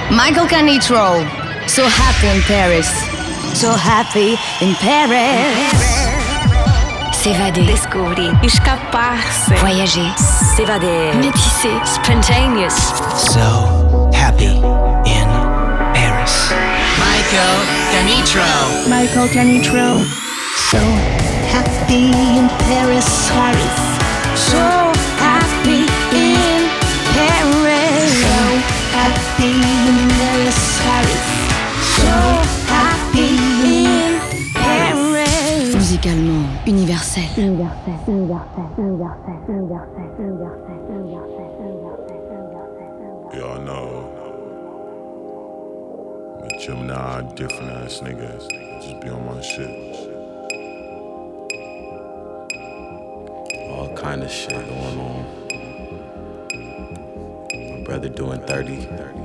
Michael Canitrot, So Happy in Paris. So Happy in Paris. S'évader, descobrir, escapar-se, voyager, s'évader, métisser, spontaneous. So happy in Paris. Michael Canitrot. Michael Canitrot. So happy in Paris. So happy in Paris. So happy in Paris. So happy in Paris. Musicalement universel. Y'all know the Gemini, different ass niggas. Just be on my shit. All kind of shit going on. My brother doing 30.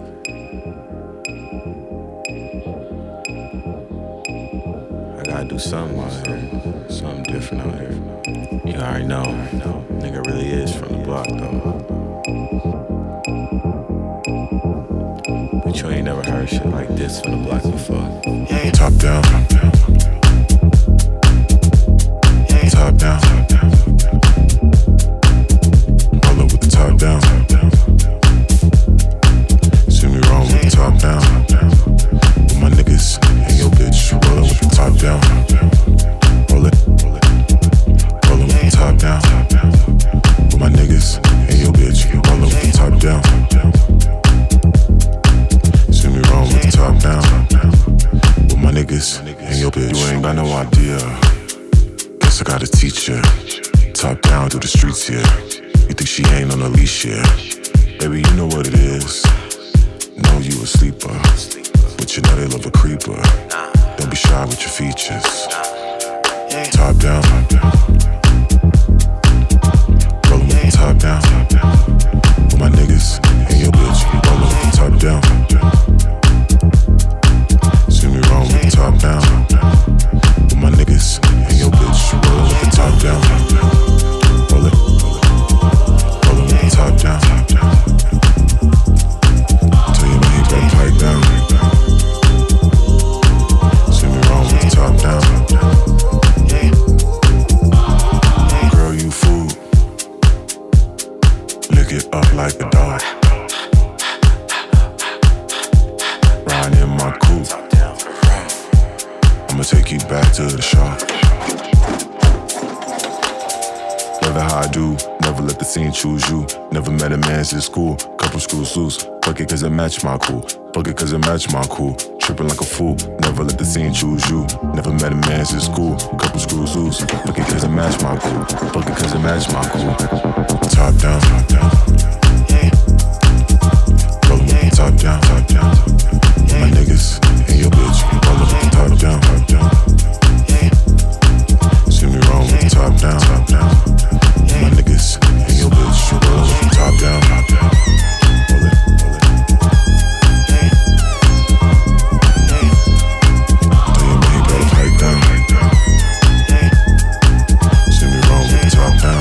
I gotta do something out here. Something different out here. You already know. Nigga really is from the block though. But you ain't never heard shit like this from the block before. Yeah. Top down. Top down. Roll up with the top down. See me wrong with the top down. With my niggas and your bitch. Roll up with the top down. Roll it. Roll up with the top down. With my niggas and your bitch. Roll up with the top down. See me wrong with the top down. With my niggas and your bitch. You ain't got no idea. Guess I gotta teach ya. Top down through the streets here. You think she ain't on a leash here? Baby, you know what it is. Know you a sleeper, but you know they love a creeper. Don't be shy with your features. Top down. Rollin' with the top down. With my niggas and your bitch. Rollin' with the top down. See me wrong with the top down. With my niggas and your bitch. Rollin' with the top down. Roll it. Rollin' with the top down. Tell you man he better pipe down. See me wrong with the top down. Girl, you fool. Lick it up like a dog. Riding in my coupe. I'ma take you back to the shop. Never how I do. Never let the scene choose you. Never met a man since school. Couple screws loose. Fuck it cause it match my cool. Fuck it cause it match my cool. Tripping like a fool. Never let the scene choose you. Never met a man since school. Couple screws loose. Fuck it cause it match my cool. Fuck it cause it match my cool. Top down. Rollin' with the top down. With my niggas and your bitch. Rollin' with the top down. See me wrong with the top down. With my niggas and your bitch. Rollin' with the top down. Roll it. Tell your man he better pipe down. See me wrong with the top down.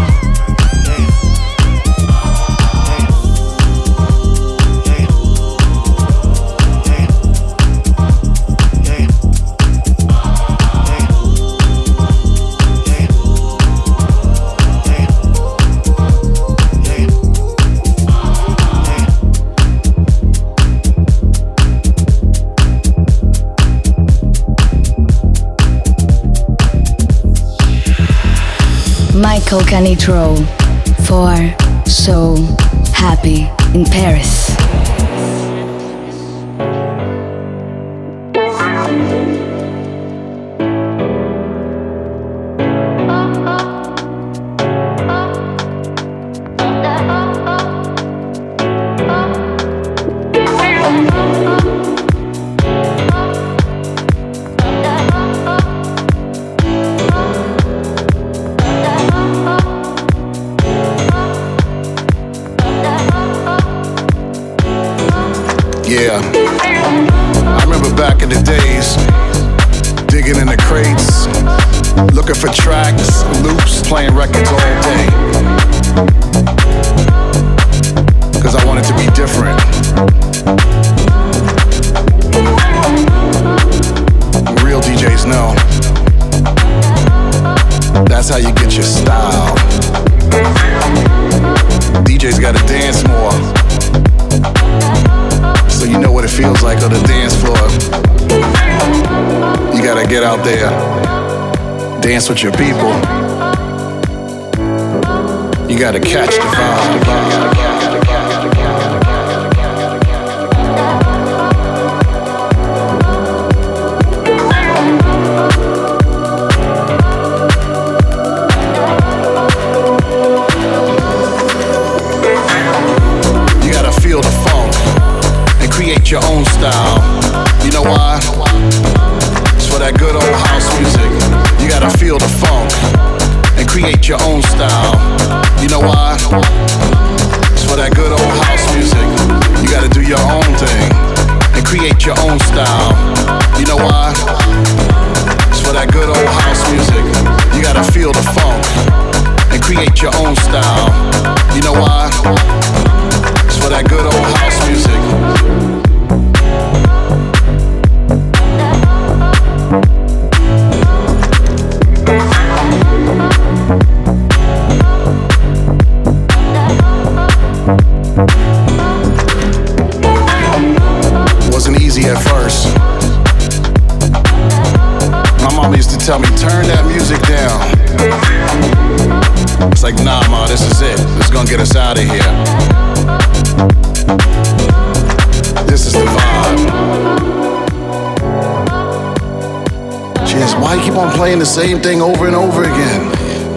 Michael Canitrot for So Happy in Paris. Yeah, I remember back in the days, digging in the crates, looking for tracks, loops, playing records all day. Cause I wanted to be different. dance more. So you know what it feels like on the dance floor. You gotta get out there, dance with your people. You gotta catch the vibe. Feel the funk and create your own style. You know why? It's for that good old house music. You gotta feel the funk and create your own style. You know why? It's for that good old house music. You gotta do your own thing and create your own style. You know why? It's for that good old house music. You gotta feel the funk and create your own style. You know why? For that good old house music. Wasn't easy at first. My mom used to tell me, turn that music down. It's like, nah, ma, this is it. This is gonna get us out of here. This is the vibe. She asked, why you keep on playing the same thing over and over again?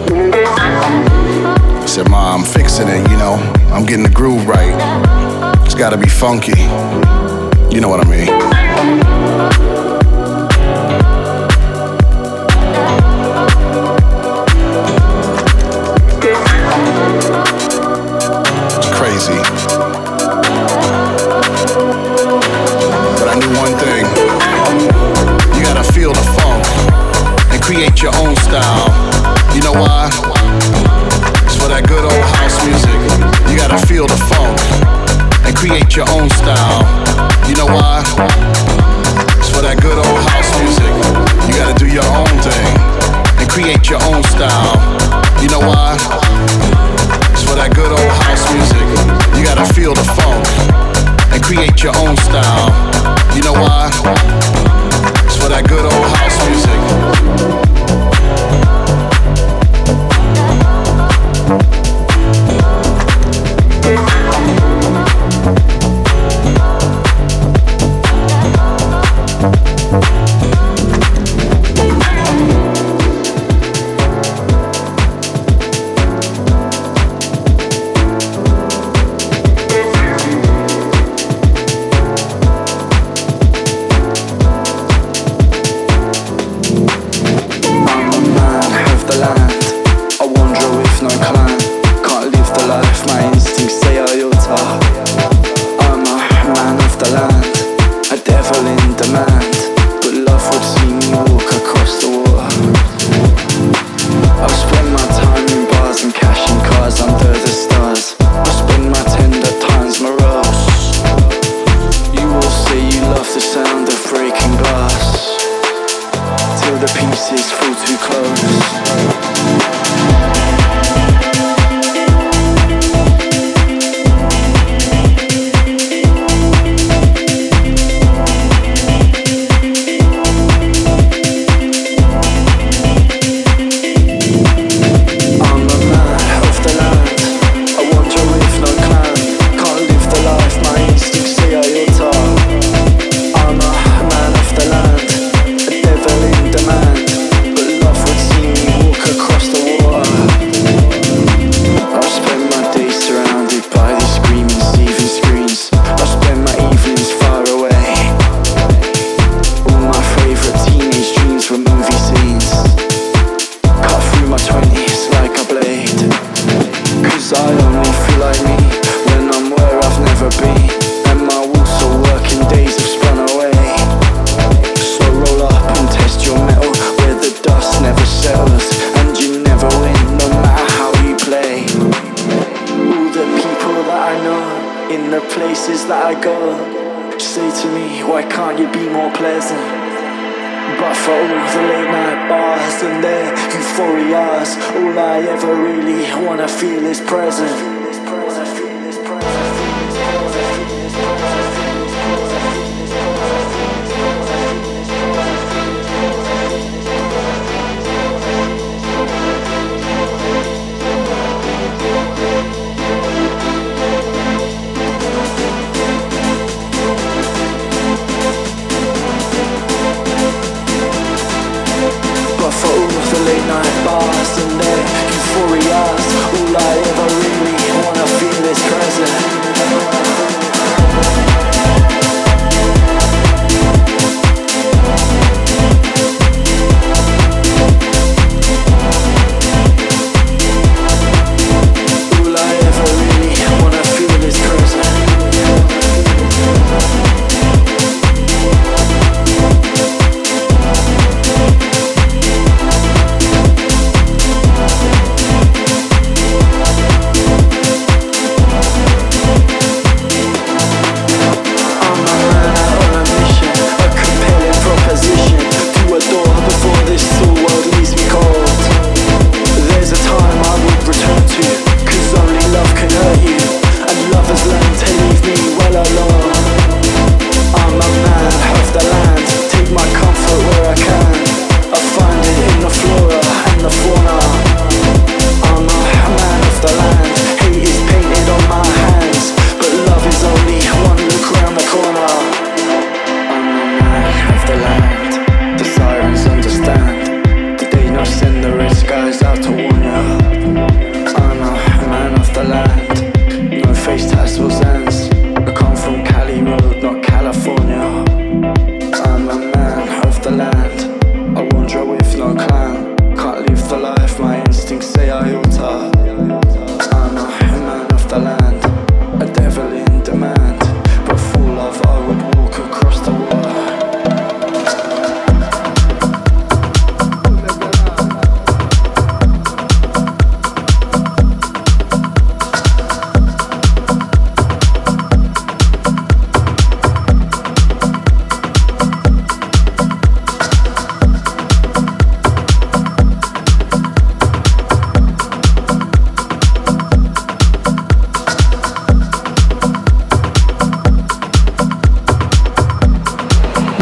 I said, Ma, I'm fixing it, you know. I'm getting the groove right. It's gotta be funky. You know what I mean. It's crazy. But I knew one thing. You gotta feel the funk and create your own style. You know why? It's for that good old house music. You gotta feel the funk and create your own style. You know why? It's for that good old house music. You gotta do your own thing and create your own style. You know why? It's for that good old house music. You gotta feel the funk and create your own style. You know why? It's for that good old house music. But for all the late night bars and their euphorias, all I ever really wanna feel is present.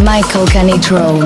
Michael Canitrot.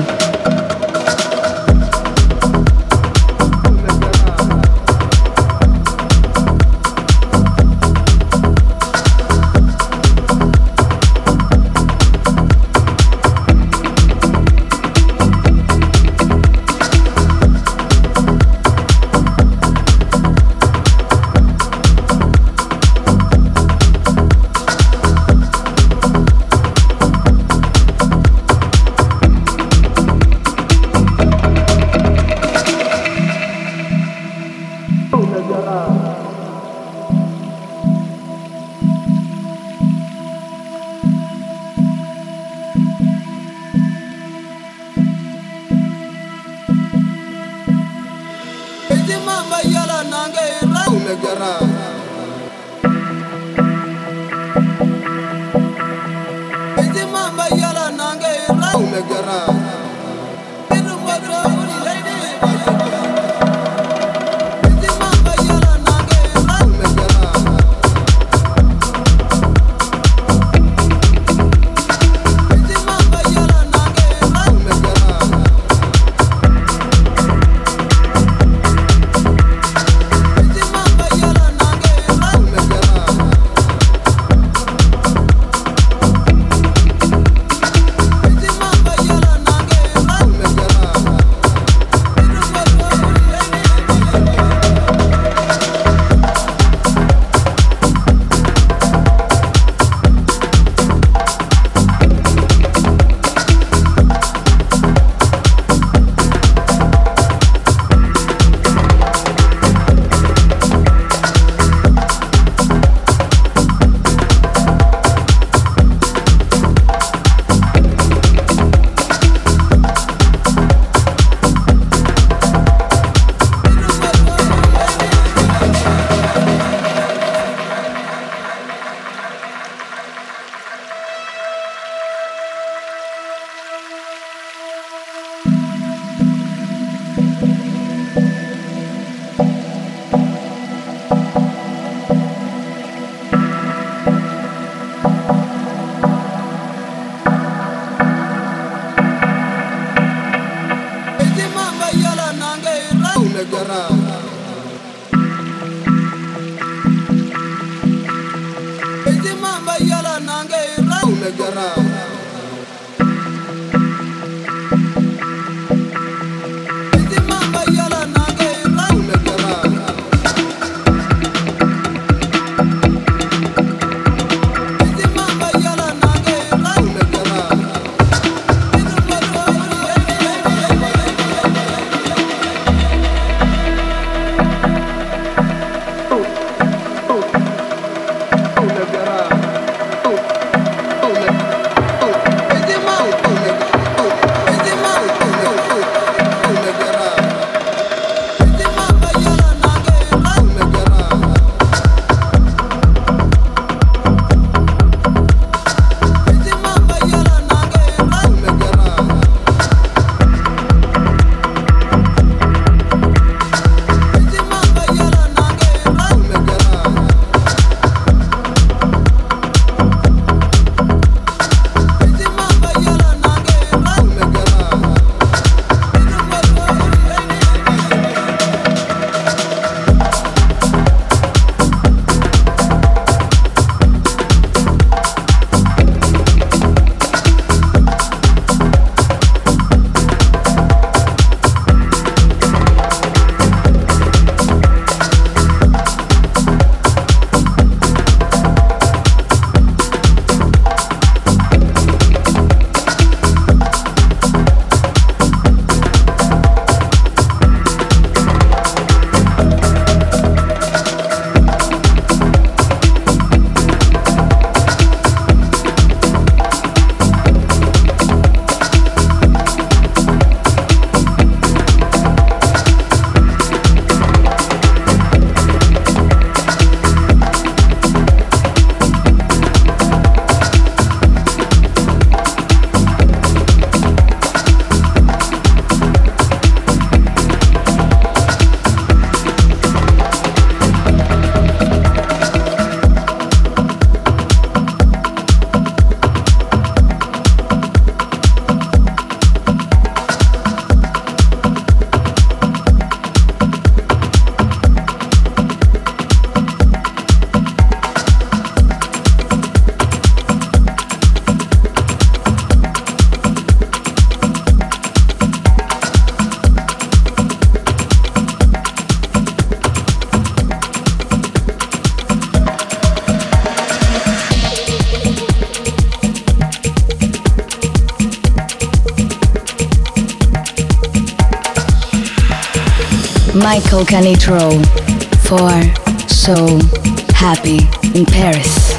Michael Canitrot for So Happy in Paris.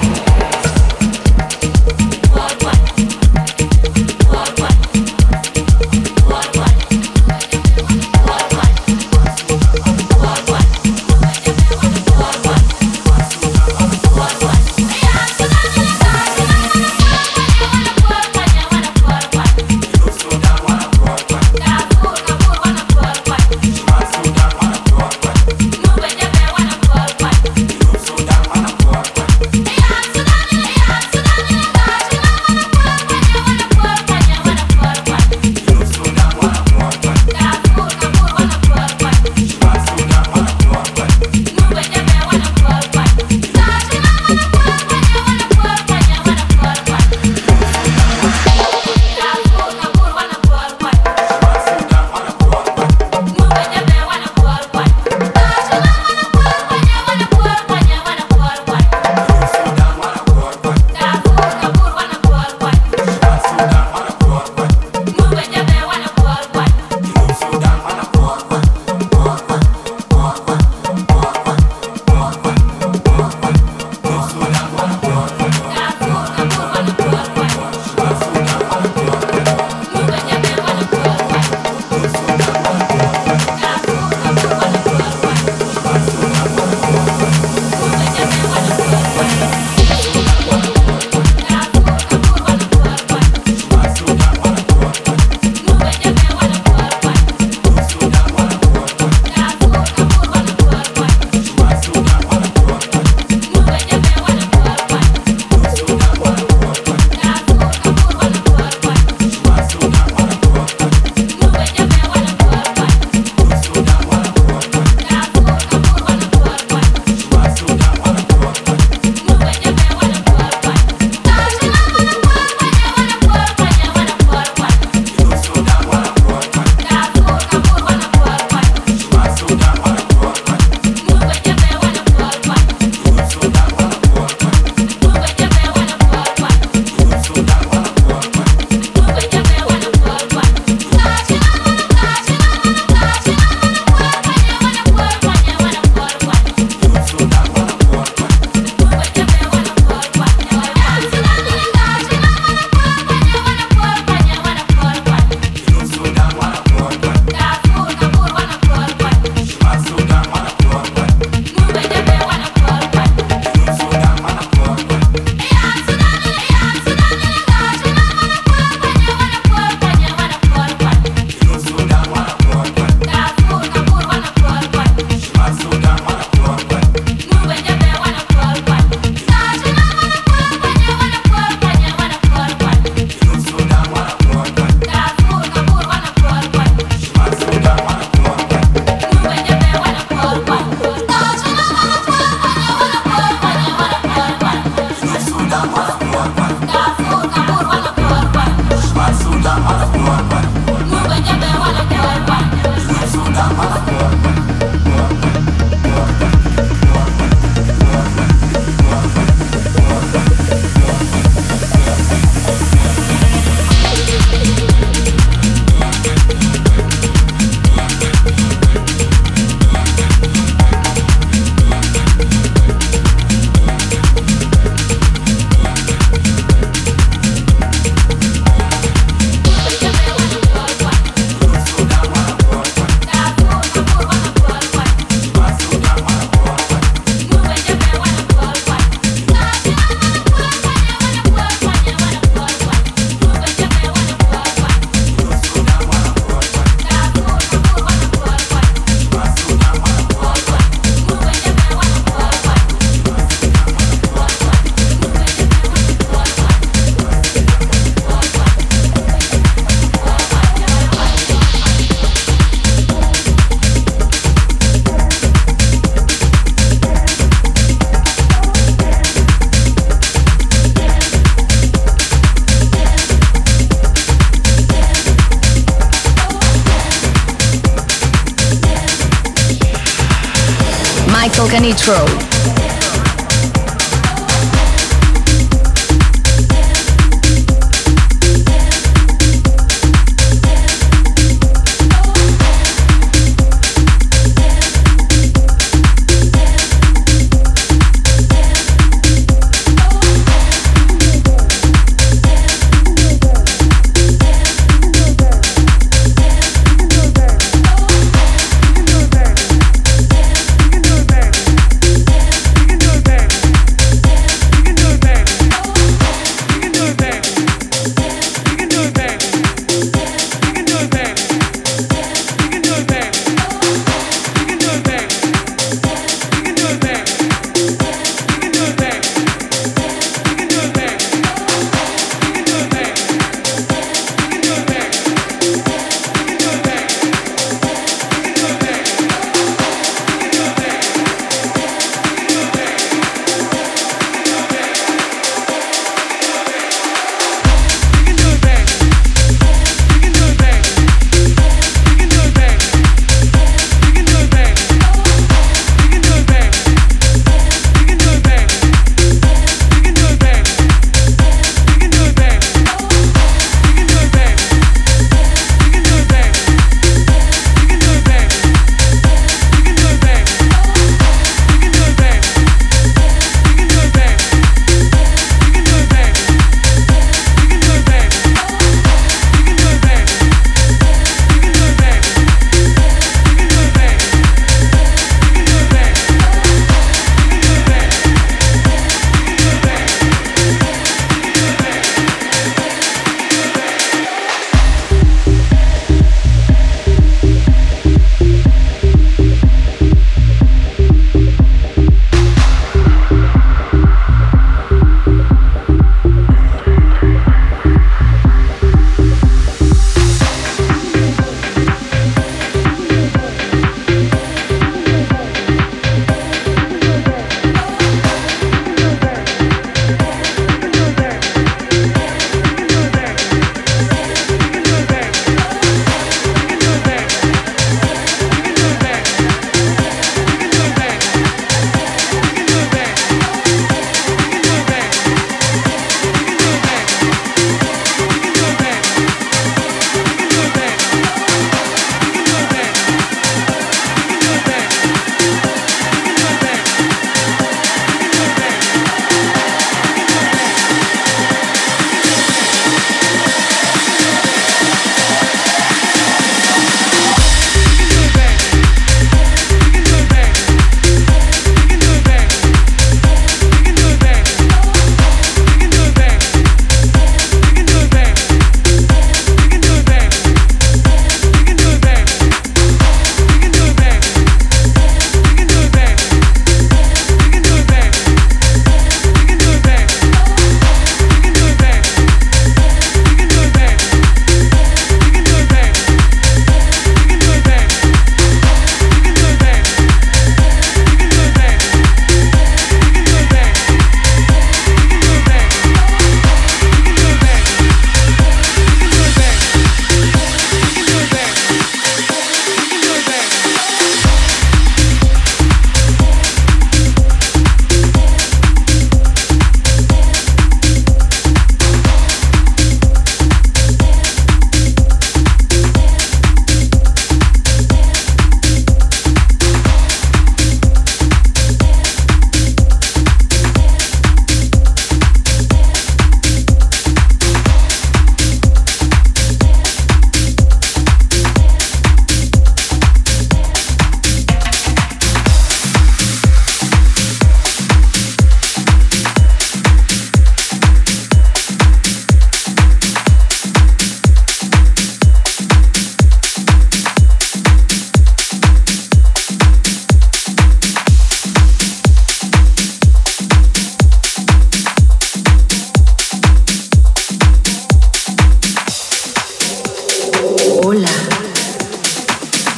Michael Canitrot.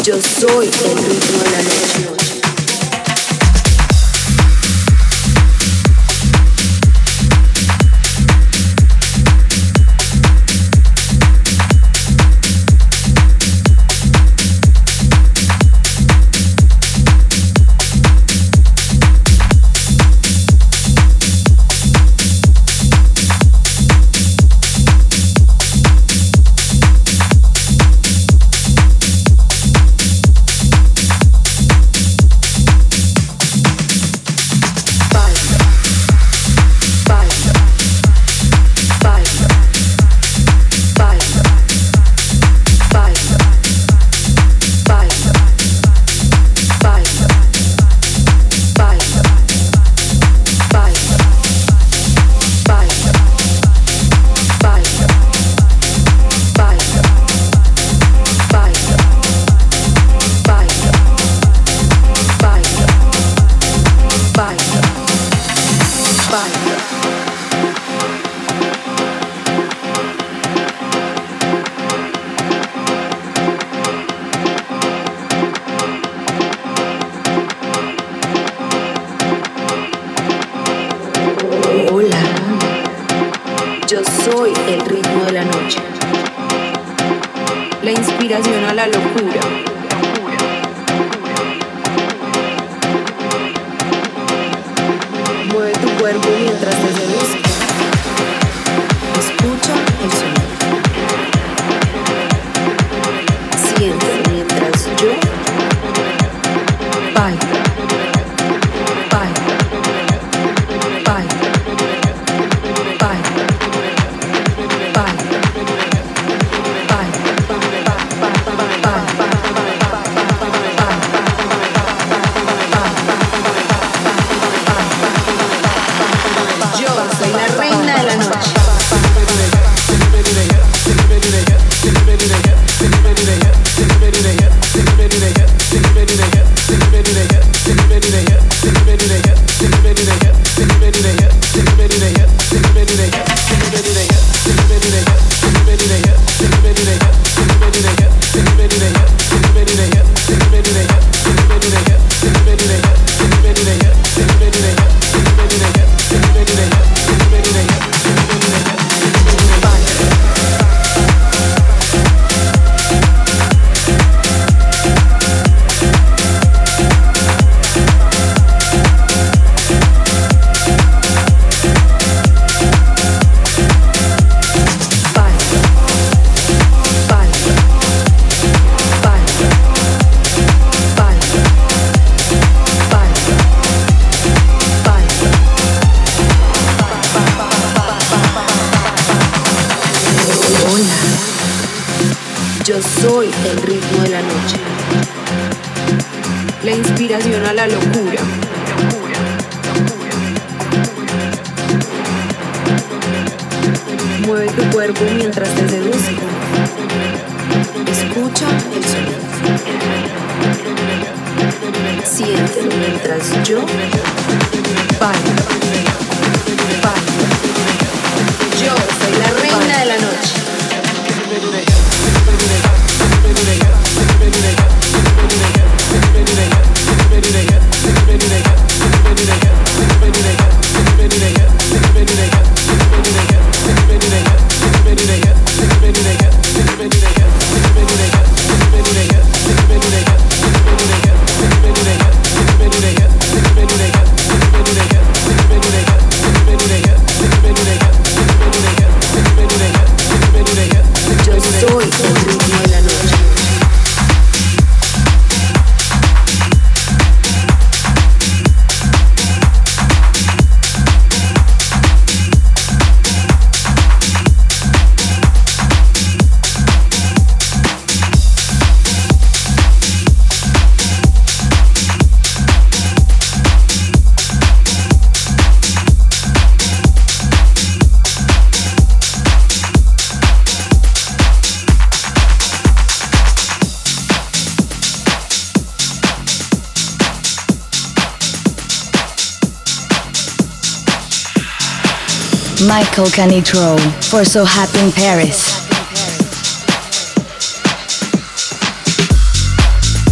Yo soy el ritmo de la noche. A la locura. Mueve tu cuerpo mientras te seduzco. Escucha el sonido. Siéntelo mientras yo bailo, bailo, bailo, bailo, bailo. Soy el ritmo de la noche. La inspiración a la locura. Mueve tu cuerpo mientras te seduzco. Escucha el sonido. Siéntelo mientras yo bailo, bailo. Yo soy la reina de la noche. Michael Canitrot for So Happy in Paris.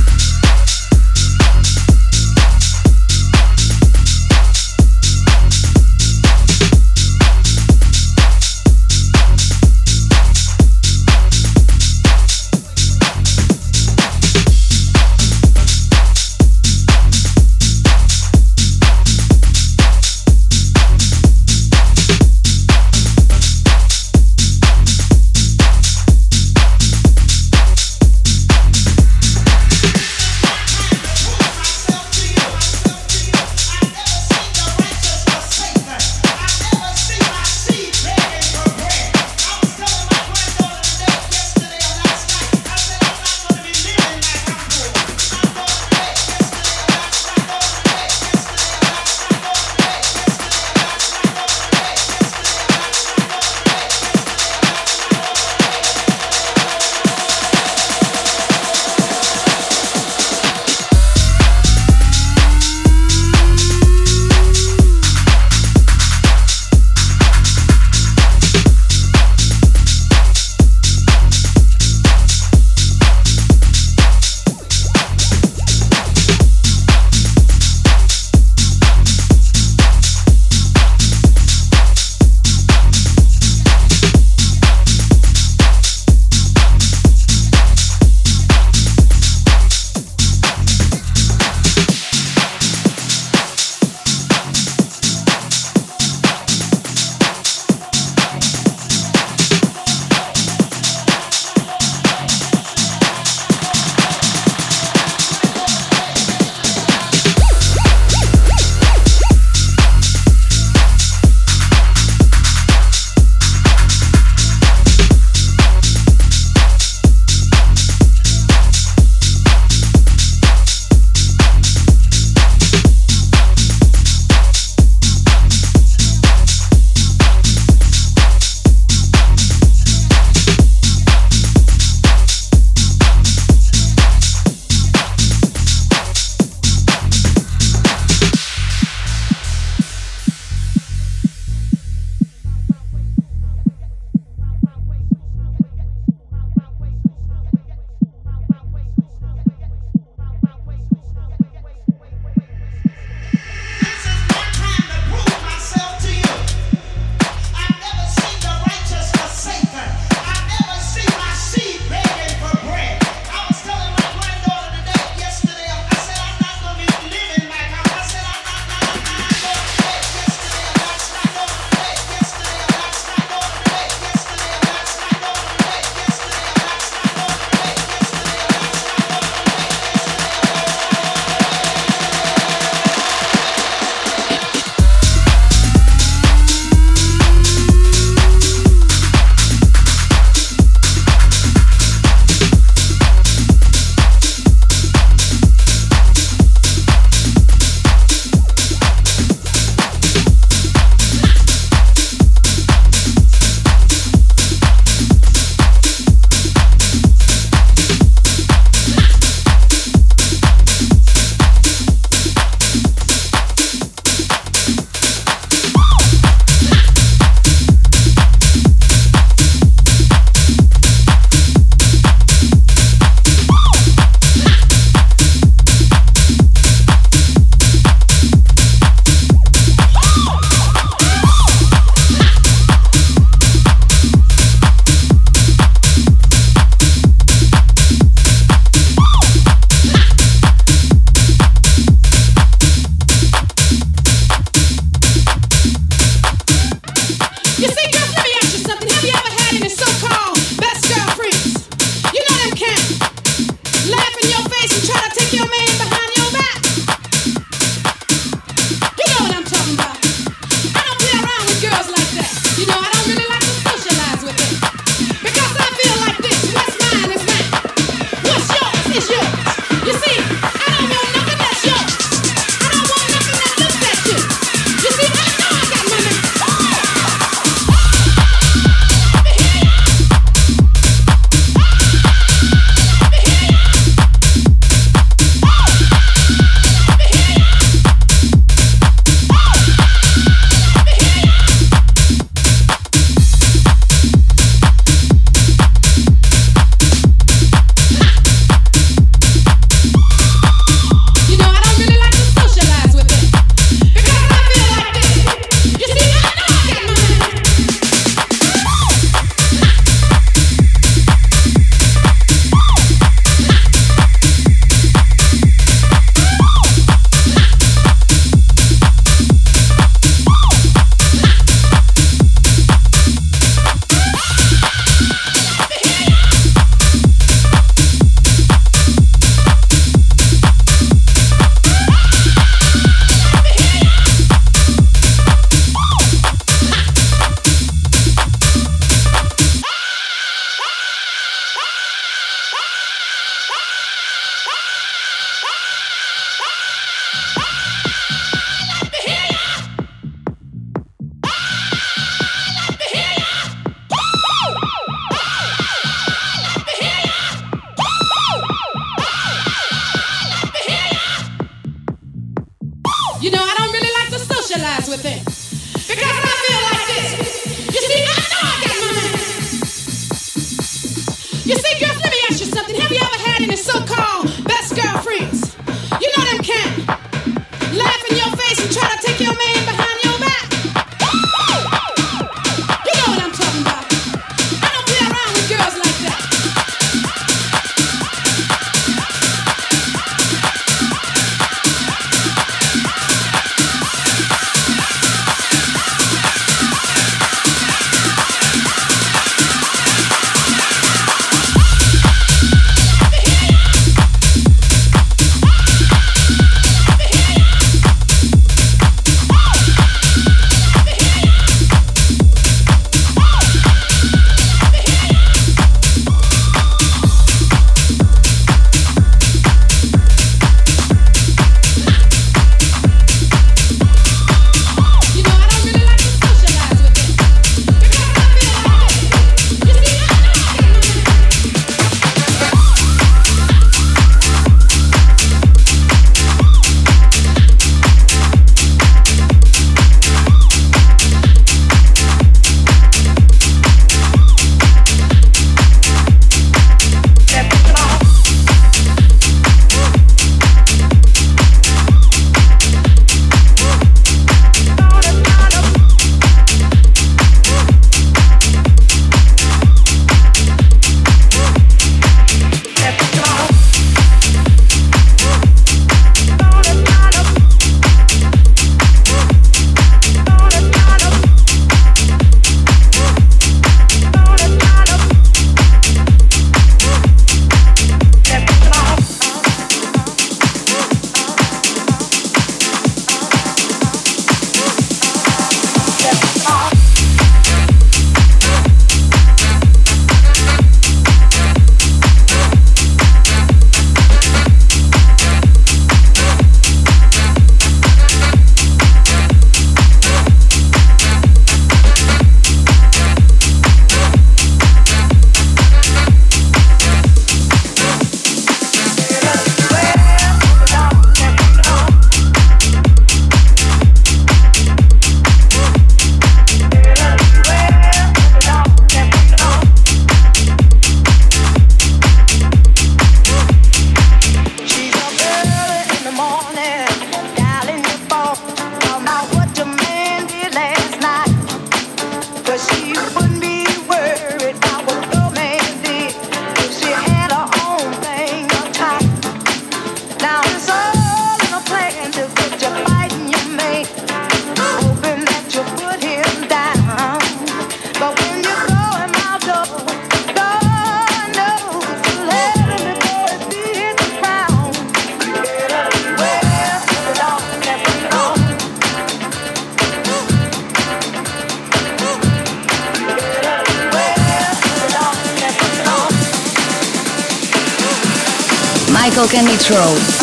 Michael Canitrot.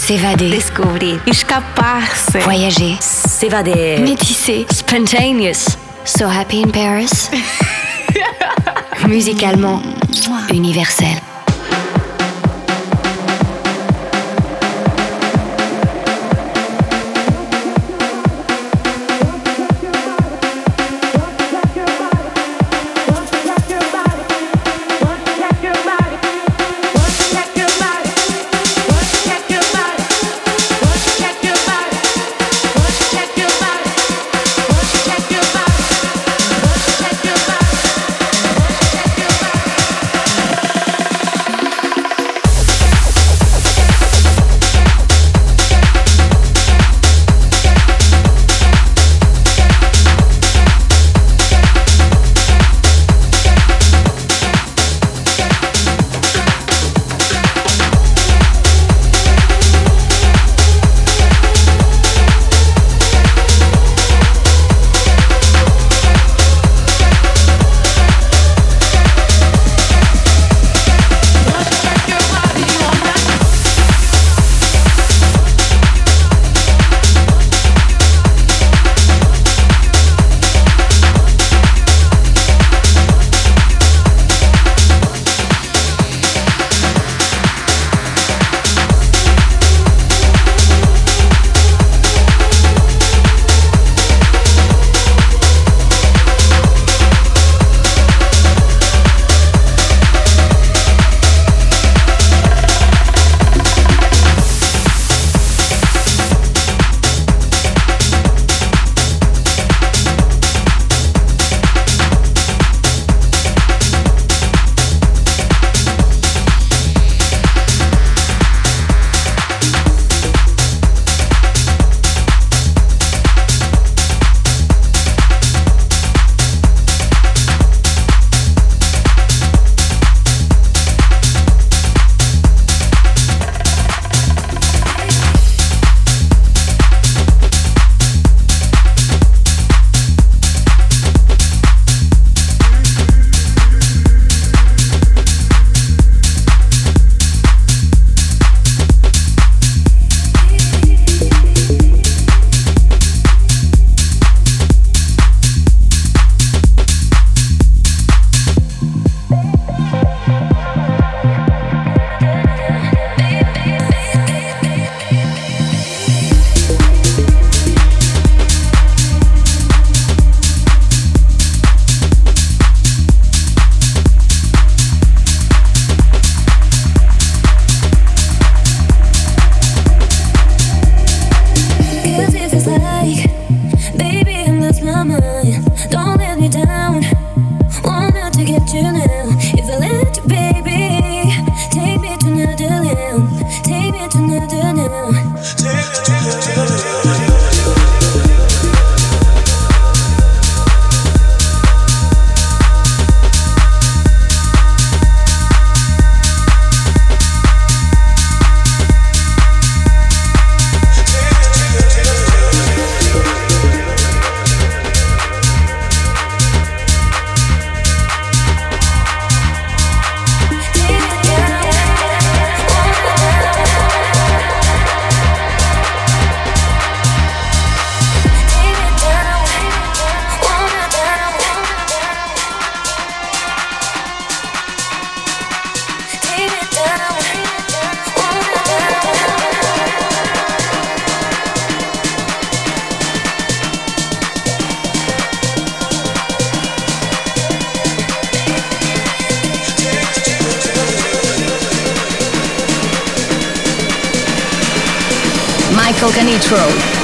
S'évader. Descobrir. Escapar-se. Voyager. S'évader. Métisser. Spontaneous. So happy in Paris. Musicalement, universel. Michael Canitrot.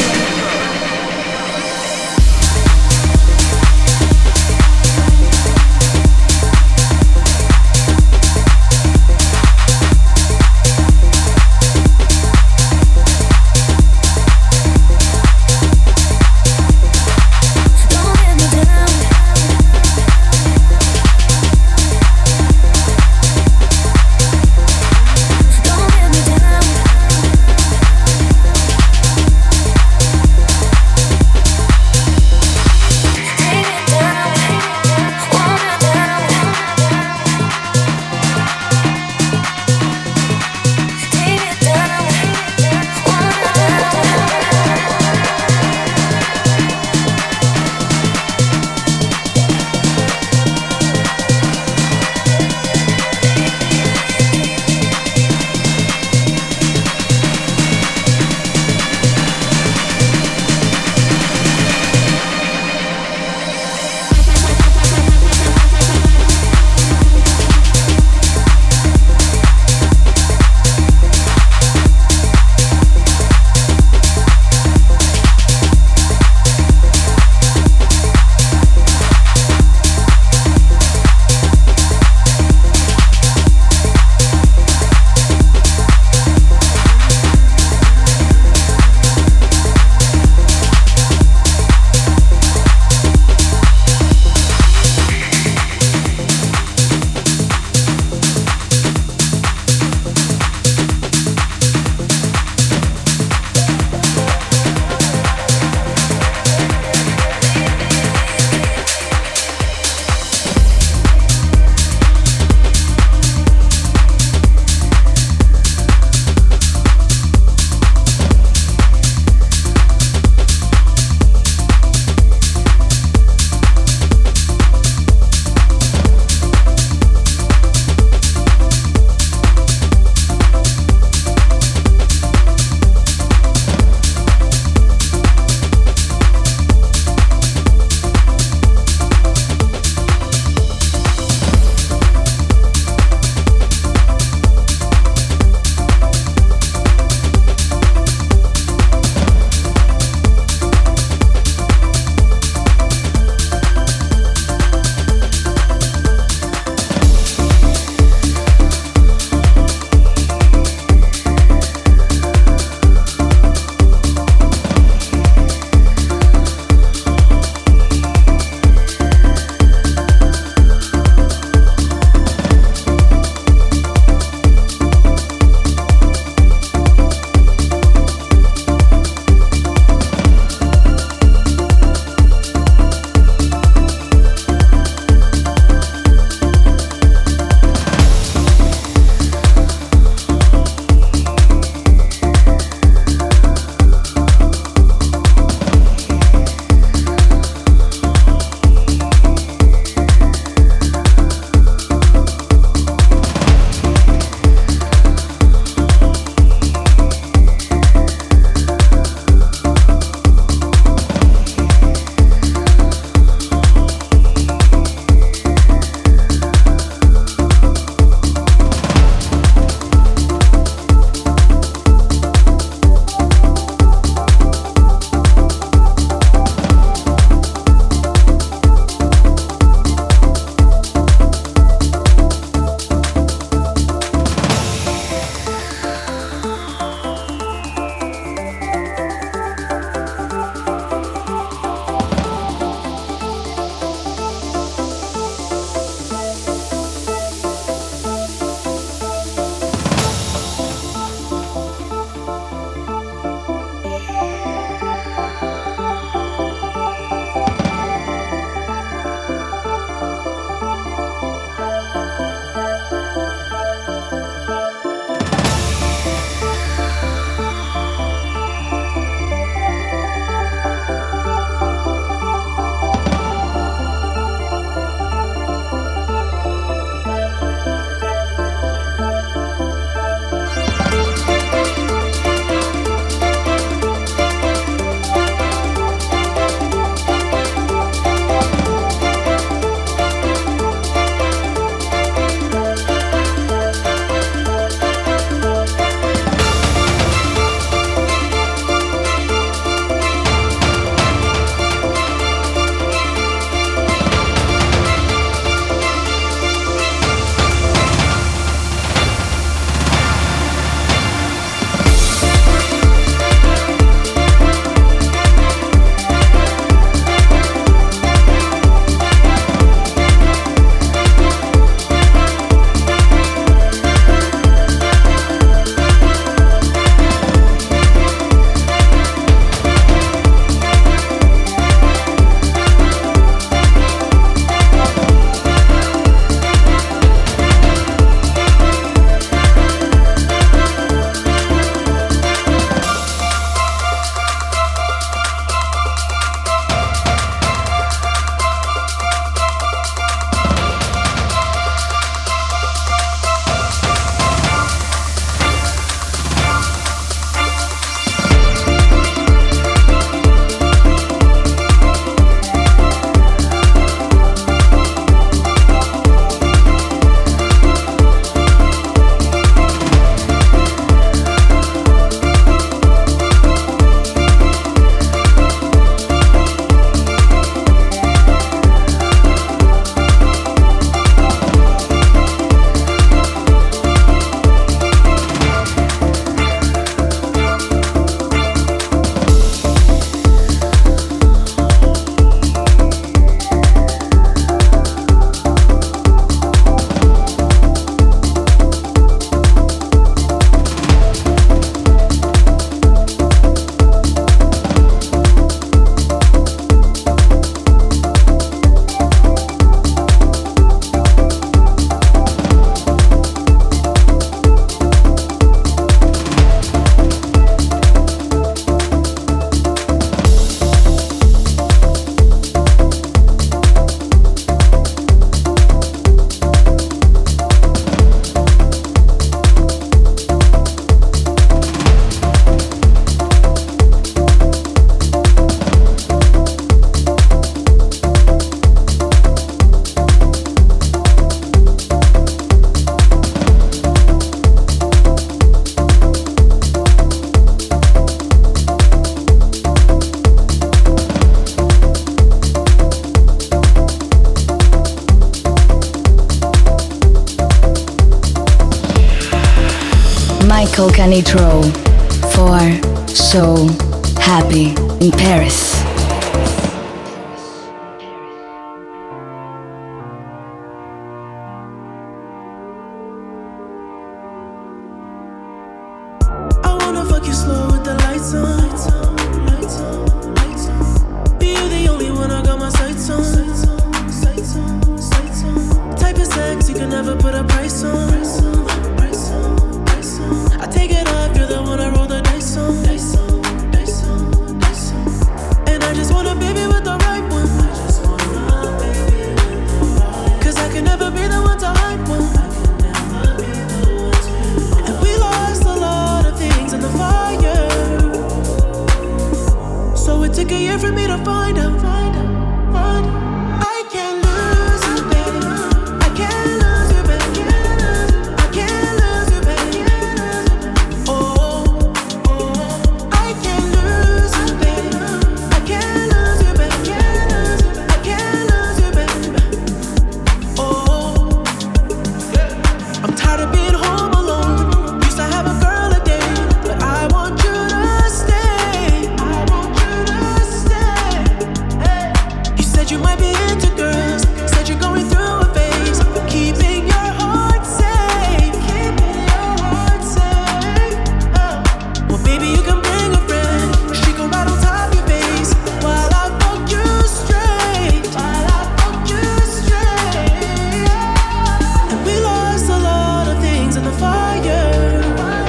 Michael Canitrot for So Happy in Paris.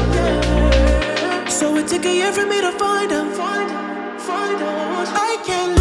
Took a year for me to find out. I can't